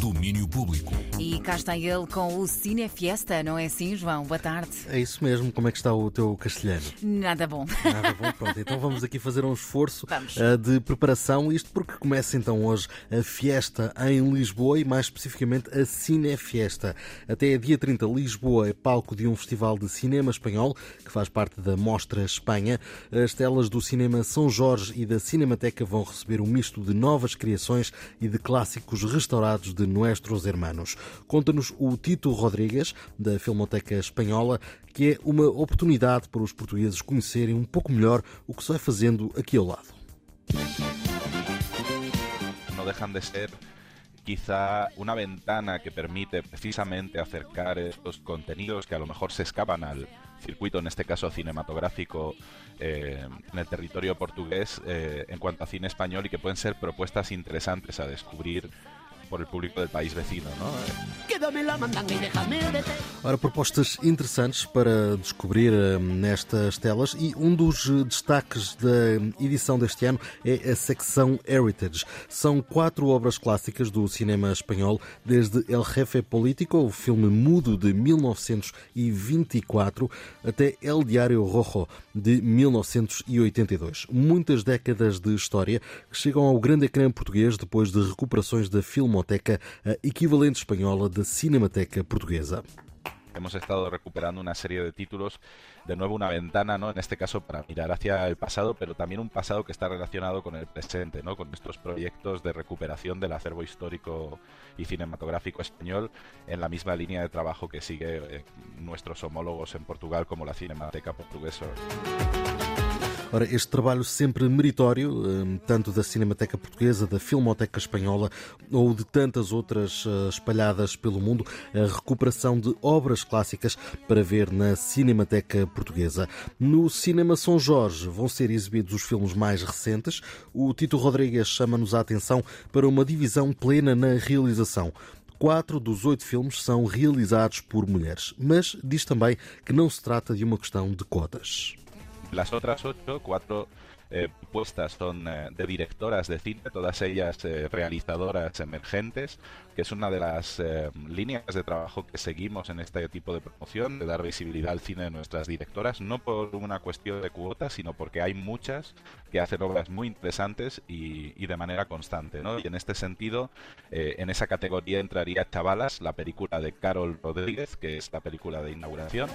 Domínio Público. E cá está ele com o Cinefiesta, não é assim, João? Boa tarde. É isso mesmo. Como é que está o teu castelhano? Nada bom. Nada bom, pronto. Então vamos aqui fazer um esforço Vamos. de preparação. Isto porque começa então hoje a Fiesta em Lisboa e mais especificamente a Cinefiesta. Até dia 30, Lisboa é palco de um festival de cinema espanhol que faz parte da Mostra Espanha. As telas do Cinema São Jorge e da Cinemateca vão receber um misto de novas criações e de clássicos restaurados de Nuestros Hermanos. Conta-nos o Tito Rodríguez, da Filmoteca Espanhola, que é uma oportunidade para os portugueses conhecerem um pouco melhor o que se vai fazendo aqui ao lado. No dejan de ser quizá una ventana que permite precisamente acercar estos contenidos que a lo mejor se escapan al circuito, en este caso cinematográfico, en el territorio portugués en cuanto a cine español, y que pueden ser propuestas interesantes a descubrir por el público del país vecino, ¿no? Ora, propostas interessantes para descobrir nestas telas, e um dos destaques da edição deste ano é a secção Heritage. São 4 obras clássicas do cinema espanhol, desde El Jefe Político, o filme mudo de 1924, até El Diário Rojo, de 1982. Muitas décadas de história que chegam ao grande ecrã português depois de recuperações da Filmoteca, a equivalente espanhola da Cinemateca portuguesa. Hemos estado recuperando una serie de títulos, de nuevo una ventana, ¿no? En este caso para mirar hacia el pasado, pero también un pasado que está relacionado con el presente, ¿no? Con estos proyectos de recuperación del acervo histórico y cinematográfico español, en la misma línea de trabajo que sigue nuestros homólogos en Portugal, como la Cinemateca Portuguesa. Ora, este trabalho sempre meritório, tanto da Cinemateca Portuguesa, da Filmoteca Espanhola ou de tantas outras espalhadas pelo mundo, a recuperação de obras clássicas para ver na Cinemateca Portuguesa. No Cinema São Jorge vão ser exibidos os filmes mais recentes. O Tito Rodríguez chama-nos a atenção para uma divisão plena na realização. 4 dos 8 filmes são realizados por mulheres, mas diz também que não se trata de uma questão de cotas. Las otras 8, 4 puestas son de directoras de cine, todas ellas realizadoras emergentes, que es una de las líneas de trabajo que seguimos en este tipo de promoción, de dar visibilidad al cine de nuestras directoras, no por una cuestión de cuotas, sino porque hay muchas que hacen obras muy interesantes y de manera constante, ¿no? Y en este sentido, en esa categoría entraría Chavalas, la película de Carol Rodríguez, que es la película de inauguración.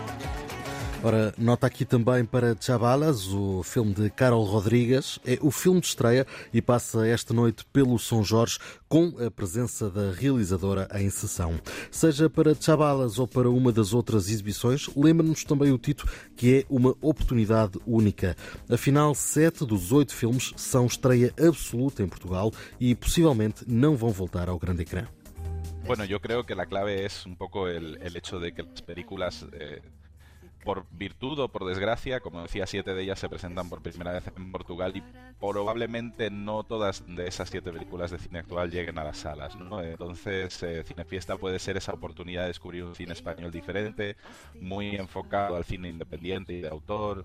Ora, nota aqui também para Chavalas, o filme de Carol Rodríguez. É o filme de estreia e passa esta noite pelo São Jorge com a presença da realizadora em sessão. Seja para Chavalas ou para uma das outras exibições, lembra-nos também o Tito que é uma oportunidade única. Afinal, 7 dos 8 filmes são estreia absoluta em Portugal e possivelmente não vão voltar ao grande ecrã. Bueno, yo creo que la clave es un poco el hecho de que las películas... por virtud o por desgracia, como decía, 7 de ellas se presentan por primera vez en Portugal y probablemente no todas de esas 7 películas de cine actual lleguen a las salas, ¿no? Entonces, Cinefiesta puede ser esa oportunidad de descubrir un cine español diferente, muy enfocado al cine independiente y de autor.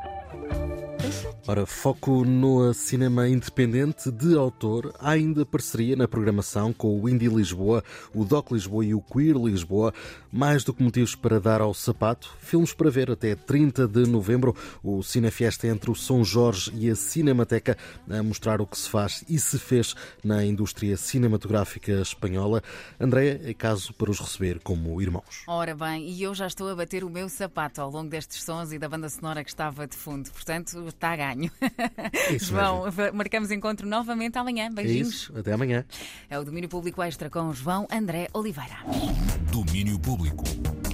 Ora, foco no cinema independente de autor. Há ainda parceria na programação com o Indie Lisboa, o Doc Lisboa e o Queer Lisboa. Mais do que motivos para dar ao sapato, filmes para ver até 30 de novembro. O Cinefiesta entre o São Jorge e a Cinemateca a mostrar o que se faz e se fez na indústria cinematográfica espanhola. Andréia, é caso para os receber como irmãos. Ora bem, e eu já estou a bater o meu sapato ao longo destes sons e da banda sonora que estava de fundo. Portanto, está a ganho. Isso João, mesmo. marcamos encontro novamente amanhã. Beijinhos. É isso, até amanhã. É o Domínio Público Extra com João André Oliveira. Domínio Público.